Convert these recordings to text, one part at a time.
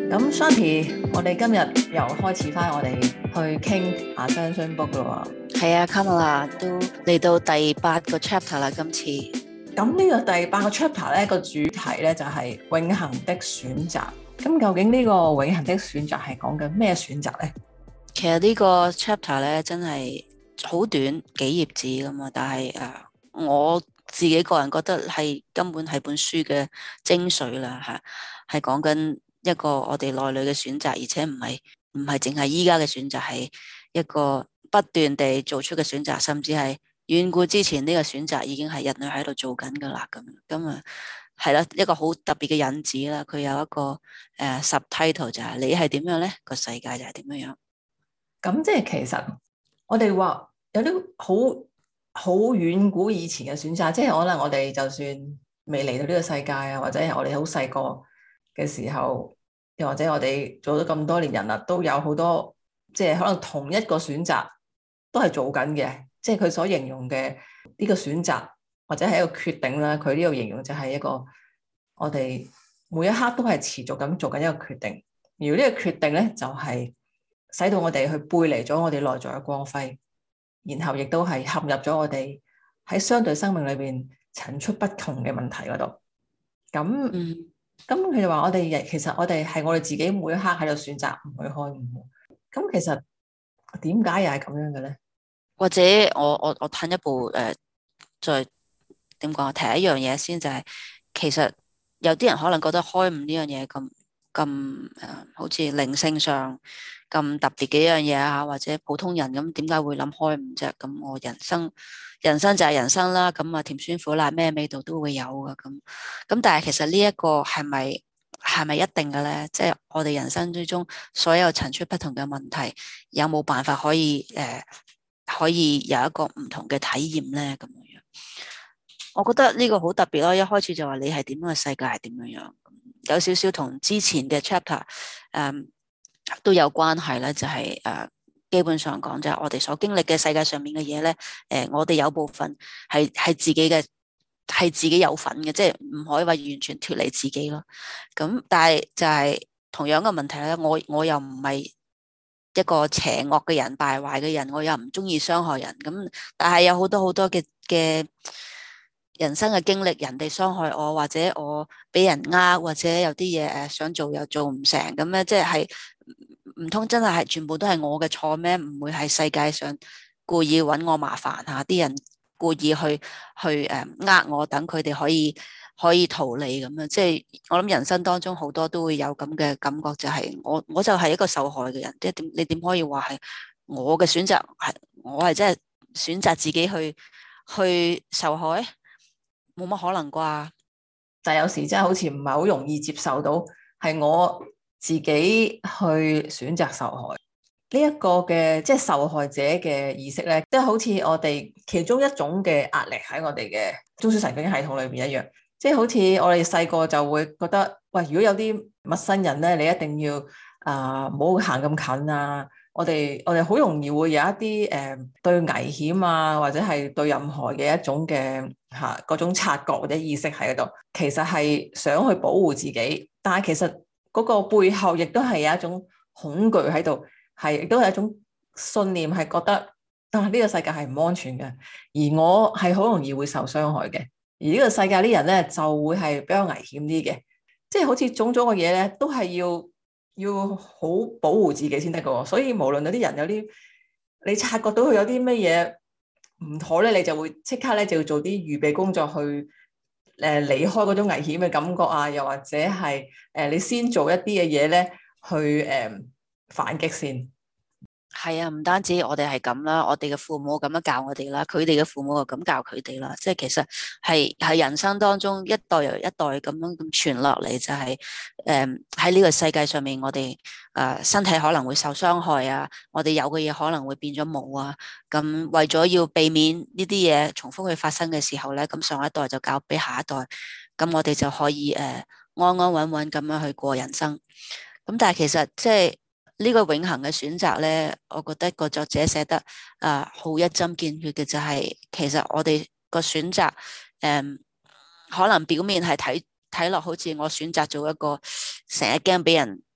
咁 Shanti，我哋今日又開始翻我哋去傾Ascension Book 咯喎。 係啊，Kamala 都嚟到第8個 chapter 啦，今次。 咁呢個第8個 chapter 咧，個主題咧就係永恆的選擇。咁究竟呢個永恆的選擇係講緊咩選擇咧？ 其實呢個 chapter 咧真係好短，幾頁紙㗎嘛，但係我自己個人覺得係根本係本書嘅精髓啦嚇，係講緊一個我哋內裏嘅選擇，而且唔係淨係依家嘅選擇，係一個不斷地做出嘅選擇，甚至係遠古之前呢個選擇已經係人類喺度做緊㗎啦。咁啊係啦，一個好特別嘅引子啦。佢有一個subtitle 就係你係點樣呢？個世界就係點樣樣。 咁即係其實我哋話有啲好遠古以前嘅選擇，即係可能我哋就算未嚟到呢個世界啊，或者係我哋好細個嘅時候，又或者我哋做咗咁多年人啦，都有好多即係可能同一個選擇都係做緊嘅，即係佢所形容嘅呢個選擇或者係一個決定啦。佢呢個形容就係一個我哋每一刻都係持續咁做緊一個決定，而呢個決定咧就係使到我哋去背離咗我哋內在嘅光輝，然後亦都係陷入咗我哋喺相對生命裏邊層出不窮嘅問題嗰度。咁佢就話我哋其實我哋係我哋自己每一刻喺度選擇唔去開悟。咁其實點解又係咁樣嘅咧？ 或者我褪一步再點講？提一樣嘢先，就係其實有啲人可能覺得開悟呢樣嘢咁好似靈性上咁特別嘅一樣嘢啊，或者普通人咁點解會諗開悟啫？咁我人生就係人生啦，咁啊甜酸苦辣咩味道都會有噶，咁但係其實呢一個係咪一定嘅咧？即係我哋人生之中所有層出不同嘅問題，有冇辦法可以有一個唔同嘅體驗咧？咁樣，我覺得呢個好特別咯。一開始就話你係點樣嘅世界係點樣樣，有少少同之前嘅 chapter 都有關係咧。就係基本上講就係我哋所經歷嘅世界上面嘅嘢咧，我哋有部分係自己嘅，係自己有份嘅，即係唔可以話完全脫離自己咯。咁但係就係同樣嘅問題咧，我又唔係一個邪惡嘅人、敗壞嘅人，我又唔中意傷害人。咁但係有好多好多嘅人生嘅經歷，人哋傷害我，或者我俾人呃，或者有啲嘢想做又做唔成咁咧，即係唔通真係全部都係我嘅錯咩？唔會係世界上故意揾我麻煩下啲人故意去呃我，等佢哋可以逃離咁樣。即係我諗人生當中好多都會有咁嘅感覺，就係我就係一個受害嘅人。即係你點可以話係我嘅選擇，我係真係選擇自己去受害？冇乜可能啩。 但係有時真係好似唔係好容易接受到，係我自己去選擇受害呢一個嘅，即係受害者嘅意識咧，即係好似我哋其中一種嘅壓力喺我哋嘅中樞神經系統裏邊一樣。即係好似我哋細個就會覺得，喂，如果有啲陌生人咧，你一定要唔好行咁近啊！我哋好容易會有一啲對危險啊，或者係對任何嘅一種嘅嗰種察覺或者意識喺度，其實係想去保護自己，但係其實嗰個背後亦都係有一種恐懼喺度，係亦都係一種信念，係覺得呢個世界係唔安全嘅，而我係好容易會受傷害嘅，而呢個世界啲人咧就會係比較危險啲嘅，即係好似種種嘅嘢咧，都係要好保護自己先得㗎。所以無論有啲人有啲你察覺到佢有啲乜嘢唔妥咧，你就會即刻咧就要做啲預備工作去離開嗰種危險嘅感覺啊，又或者係你先做一啲嘅嘢咧去反擊先。 係啊，唔單止我哋係咁啦，我哋嘅父母咁樣教我哋啦，佢哋嘅父母又咁教佢哋啦。即係其實係人生當中一代又一代咁樣咁傳落嚟，就係喺呢個世界上面，我哋身體可能會受傷害啊，我哋有嘅嘢可能會變咗冇啊。咁為咗要避免呢啲嘢重複去發生嘅時候咧，咁上一代就教俾下一代，咁我哋就可以安安穩穩咁樣去過人生。咁但係其實即係呢個永恆嘅選擇咧，我覺得個作者寫得好一針見血嘅，就係其實我哋個選擇可能表面係睇落好似我選擇做一個成日驚俾人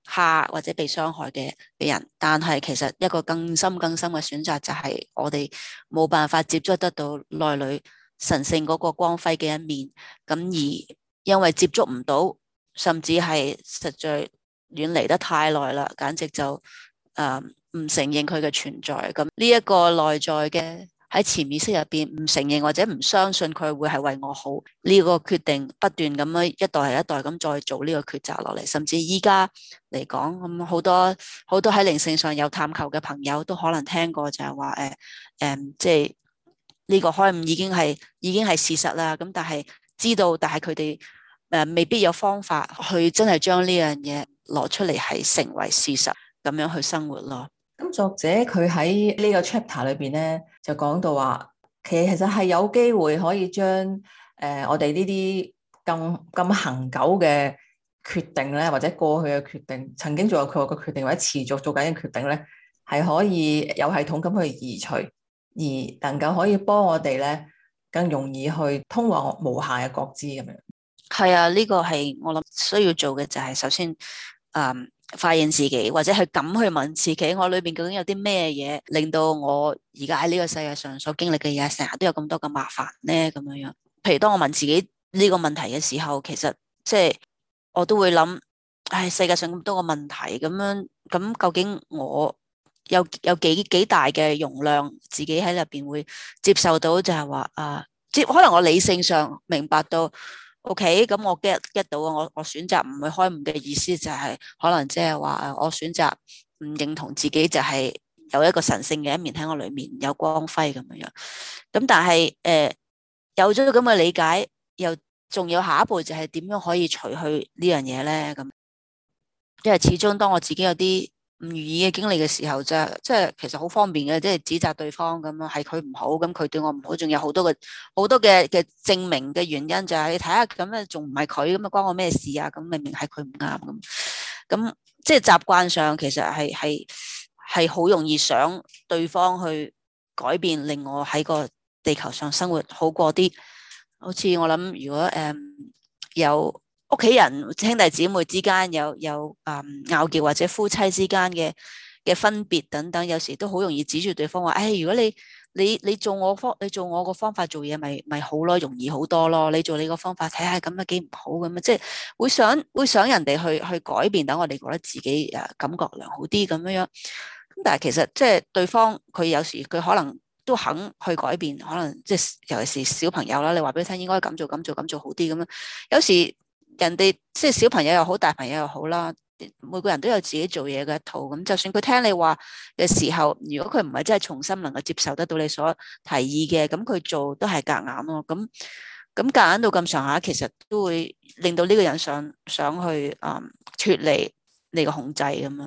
蝦或者被傷害嘅人，但係其實一個更深更深嘅選擇就係我哋冇辦法接觸得到內裏神聖嗰個光輝嘅一面，咁而因為接觸唔到，甚至係實在遠離得太耐啦，簡直就唔承認佢嘅存在。咁呢一個內在嘅喺潛意識入邊唔承認或者唔相信佢會係為我好，呢個決定不斷咁樣一代係一代咁再做呢個抉擇落嚟，甚至依家嚟講咁好多喺靈性上有探求嘅朋友都可能聽過就係話即係呢個開悟已經係事實啦。咁但係知道，但係佢哋未必有方法去真係將呢樣嘢攞出嚟係成為事實咁樣去生活咯。 咁作者佢喺呢個 chapter 裏邊咧，就講到話，其實係有機會可以將我哋呢啲咁恆久嘅決定咧，或者過去嘅決定，曾經做過佢嘅決定，或者持續做緊嘅決定咧，係可以有系統咁去移除，而能夠可以幫我哋咧更容易去通往無限嘅覺知咁樣。 係啊，呢個係我諗需要做嘅就係首先發現自己，或者係咁去問自己，我裏邊究竟有啲咩嘢令到我而家喺呢個世界上所經歷嘅嘢，成日都有咁多嘅麻煩咧？咁樣樣，譬如當我問自己呢個問題嘅時候，其實即係我都會諗，唉，世界上咁多個問題，咁樣咁究竟我有幾大嘅容量，自己喺入邊會接受到，就係話即可能我理性上明白到。OK，咁我 get 到啊！我選擇唔去開悟嘅意思就係可能即係話我選擇唔認同自己就係有一個神聖嘅一面喺我裏面有光輝咁樣樣。咁但係有咗咁嘅理解，又仲有下一步就係點樣可以除去呢樣嘢咧？咁因為始終當我自己有啲唔如意嘅經歷嘅時候，即係其實好方便嘅，即係指責對方咁樣，係佢唔好，咁佢對我唔好，仲有好多嘅證明嘅原因，就係你睇下咁啊，仲唔係佢咁啊，關我咩事啊？咁明明係佢唔啱咁，即係習慣上其實係好容易想對方去改變，令我喺個地球上生活好過啲。好似我諗，如果有屋企人兄弟姊妹之間有拗撬，或者夫妻之間嘅分別等等，有時都好容易指住對方話，如果你做我個方法做嘢，咪好咯，容易好多咯。你做你個方法睇下咁樣幾唔好咁啊，即係會想人哋去改變，等我哋覺得自己感覺良好啲咁樣。咁但係其實即係對方佢有時佢可能都肯去改變，可能即係尤其是小朋友啦，你話俾佢聽應該咁做好啲咁樣，有時。人哋即係小朋友又好，大朋友又好啦，每個人都有自己做嘢嘅一套。咁就算佢聽你話嘅時候，如果佢唔係真係重新能夠接受得到你所提議嘅，咁佢做都係夾硬咯。咁夾硬到咁上下，其實都會令到呢個人想去脫離你個控制咁樣。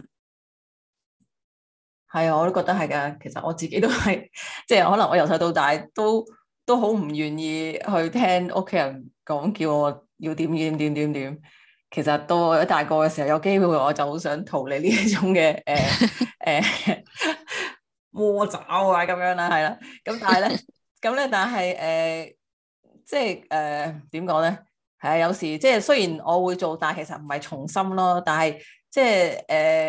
係啊，我都覺得係噶。其實我自己都係，即係可能我由細到大都好唔願意去聽屋企人講，叫我要點。其實到我一大個嘅時候，有機會我就好想逃離呢一種嘅魔爪啊咁樣啦，係啦。咁但係即係點講咧？係啊，有時即係雖然我會做，但係其實唔係從心咯。但係即係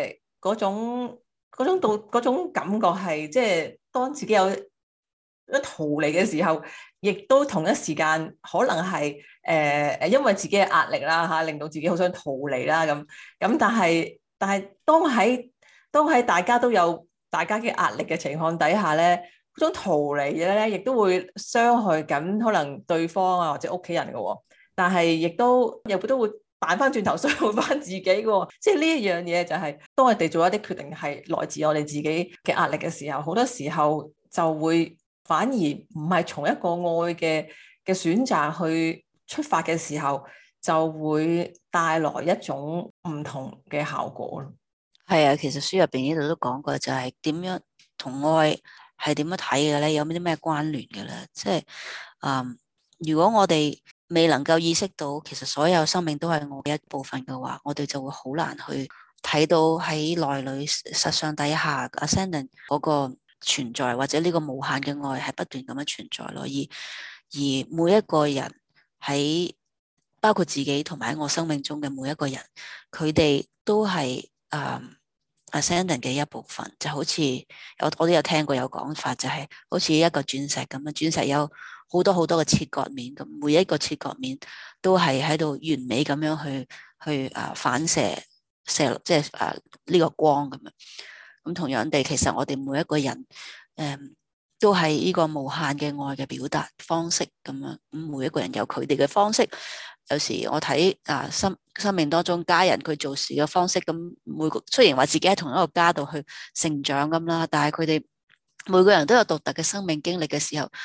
嗰種感覺係，即係當自己有一逃離嘅時候，亦都同一時間可能係因為自己嘅壓力啦嚇，令到自己好想逃離啦咁。但係當喺大家都有大家嘅壓力嘅情況底下咧，嗰種逃離嘅咧，亦都會傷害緊可能對方啊或者屋企人嘅喎。但係亦都會彈翻轉頭傷害翻自己嘅，即係呢一樣嘢就係當我哋做一啲決定係來自我哋自己嘅壓力嘅時候，好多時候就會反而唔係從一個愛嘅選擇去出發嘅時候，就會帶來一種唔同嘅效果咯。 係啊，其實書入邊呢度都講過，就係點樣同愛係點樣睇嘅咧？有啲咩關聯嘅咧？即係如果我哋未能夠意識到，其實所有生命都係我嘅一部分嘅話，我哋就會好難去睇到喺內裏實相底下 Ascendant 嗰個存在，或者呢個無限嘅愛係不斷咁樣存在咯。而每一個人喺包括自己同埋喺我生命中嘅每一個人，佢哋都係 ascendant 嘅一部分，就好似我都有聽過有講法，就係好似一個鑽石咁樣，鑽石有好多好多嘅切割面，咁每一個切割面都係喺度完美咁樣去反射即係呢個光咁樣。咁同樣地，其實我哋每一個人都係呢個無限嘅愛嘅表達方式咁樣。咁每一個人有佢哋嘅方式。有時我睇生命當中家人佢做事嘅方式，咁每個雖然話自己喺同一個家度去成長咁啦，但係佢哋每個人都有獨特嘅生命經歷嘅時候，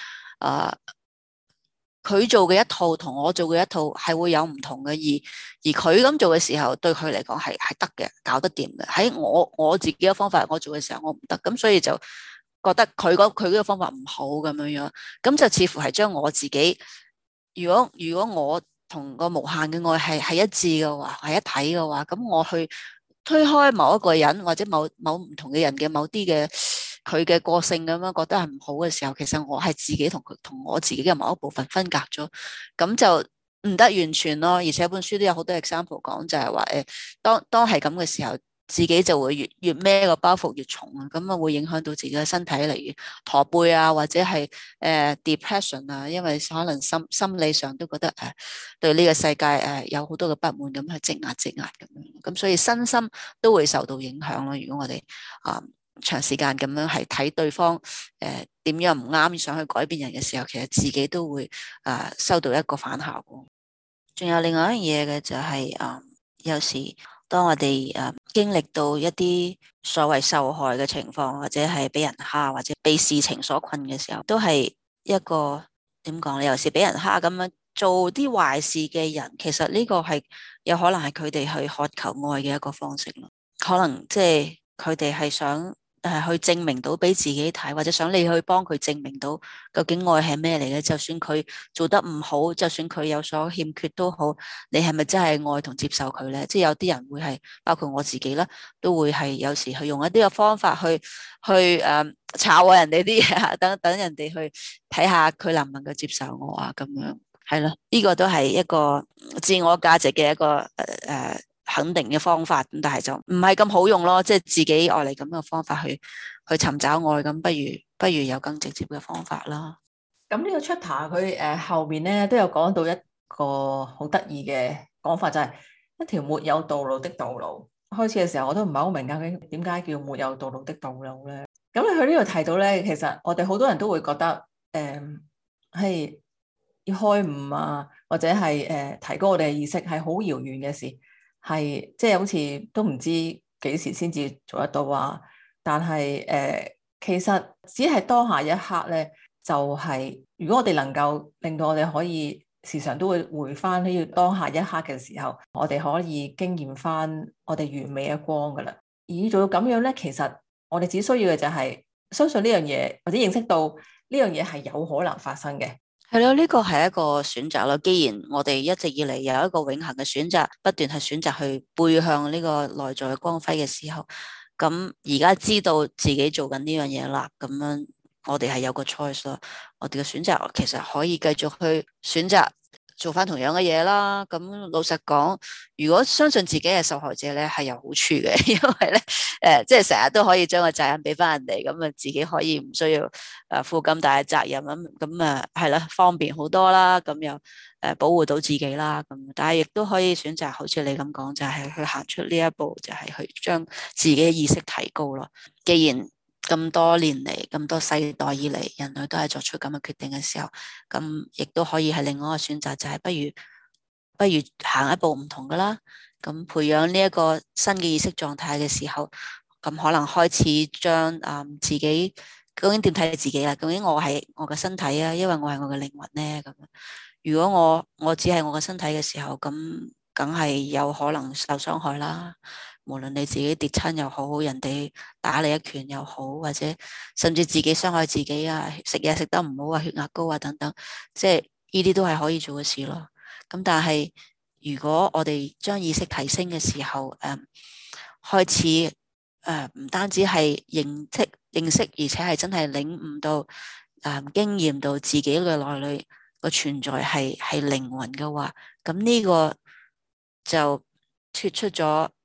佢做嘅一套同我做嘅一套係會有唔同嘅，而佢咁做嘅時候，對佢嚟講係得嘅，搞得掂嘅。喺我自己嘅方法，我做嘅時候我唔得，咁所以就覺得佢呢個方法唔好咁樣樣，咁就似乎係將我自己，如果我同個無限嘅愛係一致嘅話，係一體嘅話，咁我去推開某一個人或者某唔同嘅人嘅某啲嘅佢嘅個性咁樣覺得係唔好嘅時候，其實我係自己同我自己嘅某一部分分隔咗，咁就唔得完全咯。而且本書都有好多 example 講，就係話當係咁嘅時候，自己就會越孭個包袱越重啊，咁啊會影響到自己嘅身體，例如駝背啊，或者係depression 啊，因為可能心理上都覺得對呢個世界有好多嘅不滿，咁去積壓咁樣，咁所以身心都會受到影響咯。如果我哋長時間咁樣係睇對方點樣唔啱，想去改變人嘅時候，其實自己都會收到一個反效果。仲有另外一樣嘢嘅就係有時當我哋經歷到一啲所謂受害嘅情況，或者係俾人蝦，或者被事情所困嘅時候，都係一個點講咧？有時俾人蝦咁樣做啲壞事嘅人，其實呢個係有可能係佢哋去渴求愛嘅一個方式咯。可能即係佢哋係想去證明到俾自己睇，或者想你去幫佢證明到究竟愛係咩嚟嘅。就算佢做得唔好，就算佢有所欠缺都好，你係咪真係愛同接受佢咧？即係有啲人會係，包括我自己啦，都會係有時去用一啲嘅方法去炒人哋啲嘢，等人哋去睇下佢能唔能夠接受我啊，咁樣係咯。呢個都係一個自我價值嘅一個肯定嘅方法，咁但係就唔係咁好用咯，即係自己愛嚟咁嘅方法去尋找愛，咁不如有更直接嘅方法啦。 咁呢個 chapter 佢後面咧都有講到一個好得意嘅講法，就係一條沒有道路的道路。開始嘅時候我都唔係好明究竟點解叫沒有道路的道路咧。咁佢呢度提到咧，其實我哋好多人都會覺得係要開悟啊，或者係提高我哋嘅意識係好遙遠嘅事。係即係好似都唔知幾時先至做得到啊！但係其實只係當下一刻咧，就係如果我哋能夠令到我哋可以時常都會回翻呢個當下一刻嘅時候，我哋可以經驗翻我哋完美嘅光噶啦。而做到咁樣咧，其實我哋只需要嘅就係相信呢樣嘢，或者認識到呢樣嘢係有可能發生嘅。 係咯，呢個係一個選擇咯。既然我哋一直以嚟有一個永恆嘅選擇，不斷係選擇去背向呢個內在嘅光輝嘅時候，咁而家知道自己做緊呢樣嘢啦，咁樣我哋係有個 choice 咯。我哋嘅選擇其實可以繼續去選擇做翻同樣嘅嘢啦。咁老實講，如果相信自己係受害者咧，係有好處嘅，因為咧即係成日都可以將個責任俾翻人哋，咁啊自己可以唔需要負咁大嘅責任，咁啊係啦，方便好多啦，咁又保護到自己啦，咁但係亦都可以選擇好似你咁講，就係去行出呢一步，就係去將自己嘅意識提高咯。既然咁多年嚟，咁多世代以嚟，人類都係作出咁嘅決定嘅時候，咁亦都可以係另外一個選擇，就係不如行一步唔同噶啦。咁培養呢一個新嘅意識狀態嘅時候，咁可能開始將自己究竟點睇自己啦？究竟我係我嘅身體啊，因為我係我嘅靈魂咧？咁如果我只係我嘅身體嘅時候，咁梗係有可能受傷害啦。無論你自己跌親又好，人哋打你一拳又好，或者甚至自己傷害自己啊，食嘢食得唔好啊，血壓高啊等等，即係呢啲都係可以做嘅事咯。咁但係如果我哋將意識提升嘅時候，開始唔單止係認識，而且係真係領悟到經驗到自己嘅內裏個存在係靈魂嘅話，咁呢個就脫出咗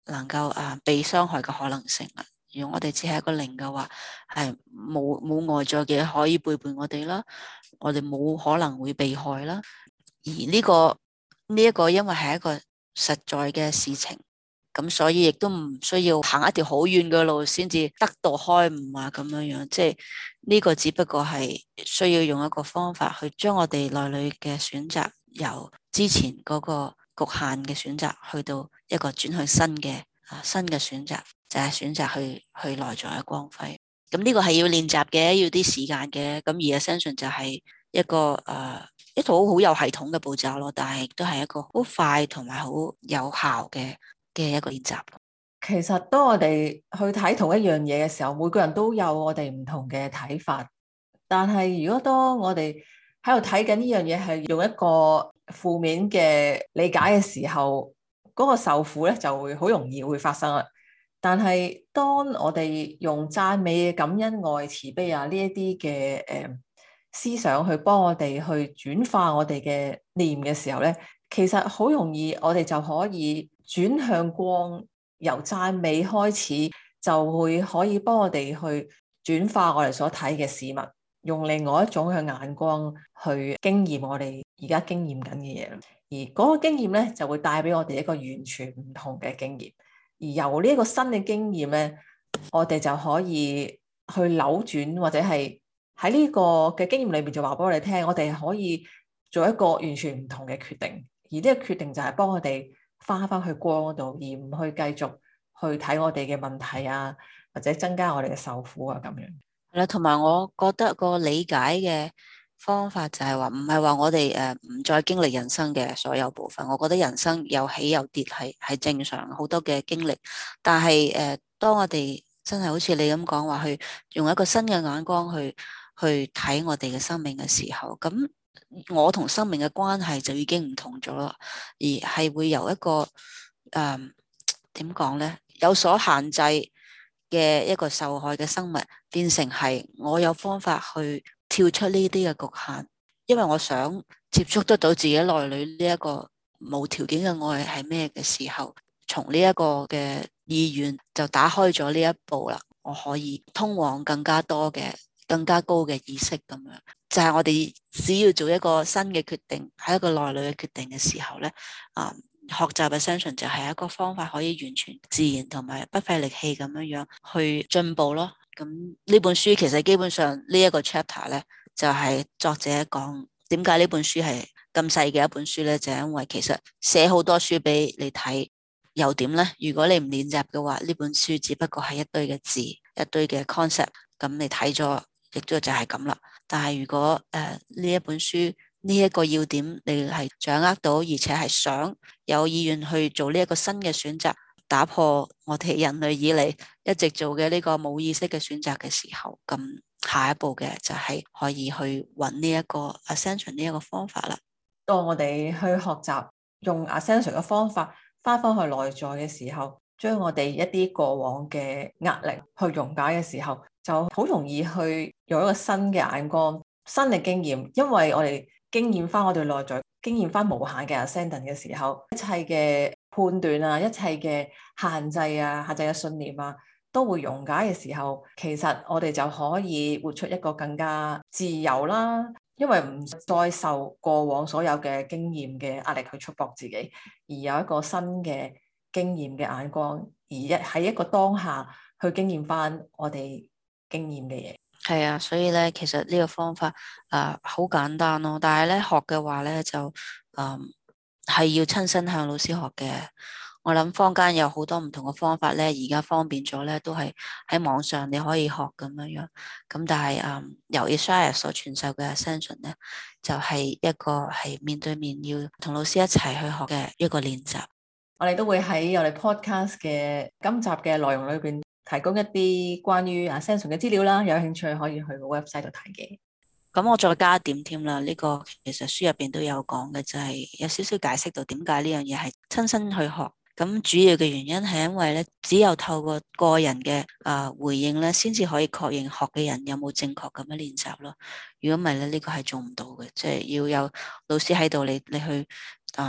能夠被傷害嘅可能性啦。如果我哋只係一個零嘅話，係冇外在嘅可以背叛我哋啦，我哋冇可能會被害啦。而呢一個因為係一個實在嘅事情，咁所以亦都唔需要行一條好遠嘅路先至得到開悟啊，咁樣樣。即係呢個只不過係需要用一個方法去將我哋內裏嘅選擇由之前嗰個局限嘅選擇去到一個轉向新嘅選擇，就係選擇去內在嘅光輝。咁呢個係要練習嘅，要啲時間嘅。咁而 Ascension 就係一個一套好有系統嘅步驟咯，但係亦都係一個好快同埋好有效嘅一個練習。 其實當我哋去睇同一樣嘢嘅時候，每個人都有我哋唔同嘅睇法。但係如果當我哋喺度睇緊呢樣嘢係用一個負面嘅理解嘅時候，嗰個受苦咧就會好容易會發生啦。但係當我哋用讚美、感恩、愛、慈悲啊呢一啲嘅思想去幫我哋去轉化我哋嘅念嘅時候咧，其實好容易我哋就可以轉向光，由讚美開始就會可以幫我哋去轉化我哋所睇嘅事物，用另外一種嘅眼光去經驗我哋而家經驗緊嘅嘢，而嗰個經驗咧就會帶俾我哋一個完全唔同嘅經驗，而由呢一個新嘅經驗咧，我哋就可以去扭轉，或者係喺呢個嘅經驗裏面就話俾我哋聽，我哋可以做一個完全唔同嘅決定，而呢個決定就係幫我哋翻去光嗰度，而唔去繼續去睇我哋嘅問題啊，或者增加我哋嘅受苦啊咁樣。 係啦，同埋我覺得個理解嘅方法就係話，唔係話我哋唔再經歷人生嘅所有部分。我覺得人生有起有跌係正常，好多嘅經歷。但係當我哋真係好似你咁講話，去用一個新嘅眼光去睇我哋嘅生命嘅時候，咁我同生命嘅關係就已經唔同咗啦，而係會由一個點講呢，有所限制嘅一個受害嘅生物，變成係我有方法去跳出呢啲嘅局限，因為我想接觸得到自己內裏呢一個無條件嘅愛係咩嘅時候，從呢一個嘅意願就打開咗呢一步啦，我可以通往更加多嘅更加高嘅意識咁樣。就係我哋只要做一個新嘅決定，喺一個內裏嘅決定嘅時候咧，學習 Ascension 就係一個方法，可以完全自然同埋不費力氣咁樣去進步咯。咁呢本書其實基本上呢一個 chapter 咧，就係作者講點解呢本書係咁細嘅一本書咧，就係因為其實寫好多書俾你睇，又點咧？如果你唔練習嘅話，呢本書只不過係一堆嘅字，一堆嘅 concept，咁你睇咗亦都就係咁啦。但係如果呢一本書呢一個要點你係掌握到，而且係想有意願去做呢一個新嘅選擇，打破我哋人類以嚟一直做嘅呢個冇意識嘅選擇嘅時候，咁下一步嘅就係可以去揾呢一個 Ascension 呢一個方法啦。 當我哋去學習用 Ascension 嘅方法翻返去內在嘅時候，將我哋一啲過往嘅壓力去溶解嘅時候，就好容易去用一個新嘅眼光、新嘅經驗，因為我哋經驗翻我哋內在，經驗翻無限嘅 Ascendant 嘅時候，一切嘅判斷啊，一切嘅限制啊、限制嘅信念啊，都會溶解嘅時候，其實我哋就可以活出一個更加自由啦。因為唔再受過往所有嘅經驗嘅壓力去束縛自己，而有一個新嘅經驗嘅眼光，而喺一個當下去經驗翻我哋經驗嘅嘢。 係啊，所以咧，其實呢個方法好簡單咯，但係咧學嘅話咧就係要親身向老師學嘅。我諗坊間有好多唔同嘅方法咧，而家方便咗咧，都係喺網上你可以學咁樣樣。咁但係由 Isaiah 所傳授嘅 Ascension 咧，就係一個係面對面要同老師一齊去學嘅一個練習。 我哋都會喺我哋 podcast 嘅今集嘅內容裏邊提供一啲關於 Ascension 嘅資料啦，有興趣可以去個 website 度睇嘅。 咁我再加一點添啦，呢個其實書入邊都有講嘅，就係有少少解釋到點解呢樣嘢係親身去學。咁主要嘅原因係因為咧，只有透過個人嘅回應咧，先至可以確認學嘅人有冇正確咁樣練習咯。如果唔係咧，呢個係做唔到嘅，即係要有老師喺度，你去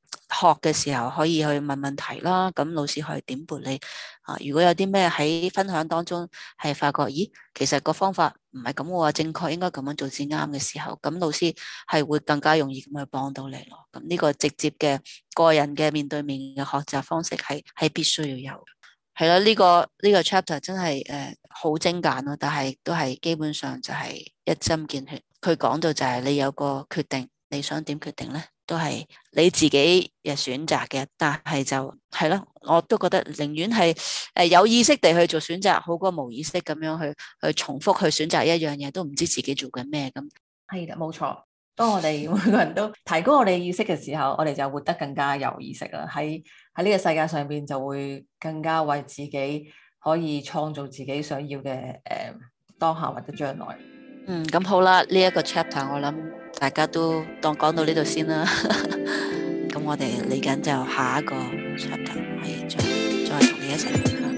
學嘅時候可以去問問題啦，咁老師可以點撥你啊。如果有啲咩喺分享當中係發覺，咦，其實個方法唔係咁喎，正確應該咁樣做至啱嘅時候，咁老師係會更加容易咁去幫到你咯。咁呢個直接嘅個人嘅面對面嘅學習方式係必須要有。係啦，呢個 chapter 真係好精簡咯，但係都係基本上就係一針見血。佢講到就係你有個決定，你想點決定呢？都係你自己嘅選擇嘅，但係就係咯，我都覺得寧願係有意識地去做選擇，好過無意識咁樣去重複去選擇一樣嘢，都唔知自己做緊咩咁。 係啦，冇錯。當我哋每個人都提高我哋意識嘅時候，我哋就活得更加有意識啦。喺呢個世界上邊就會更加為自己可以創造自己想要嘅當下或者將來。 咁好啦，呢一個 chapter 我諗大家都當講到呢度先啦。咁我哋嚟緊就下一個 chapter 係再同你一齊。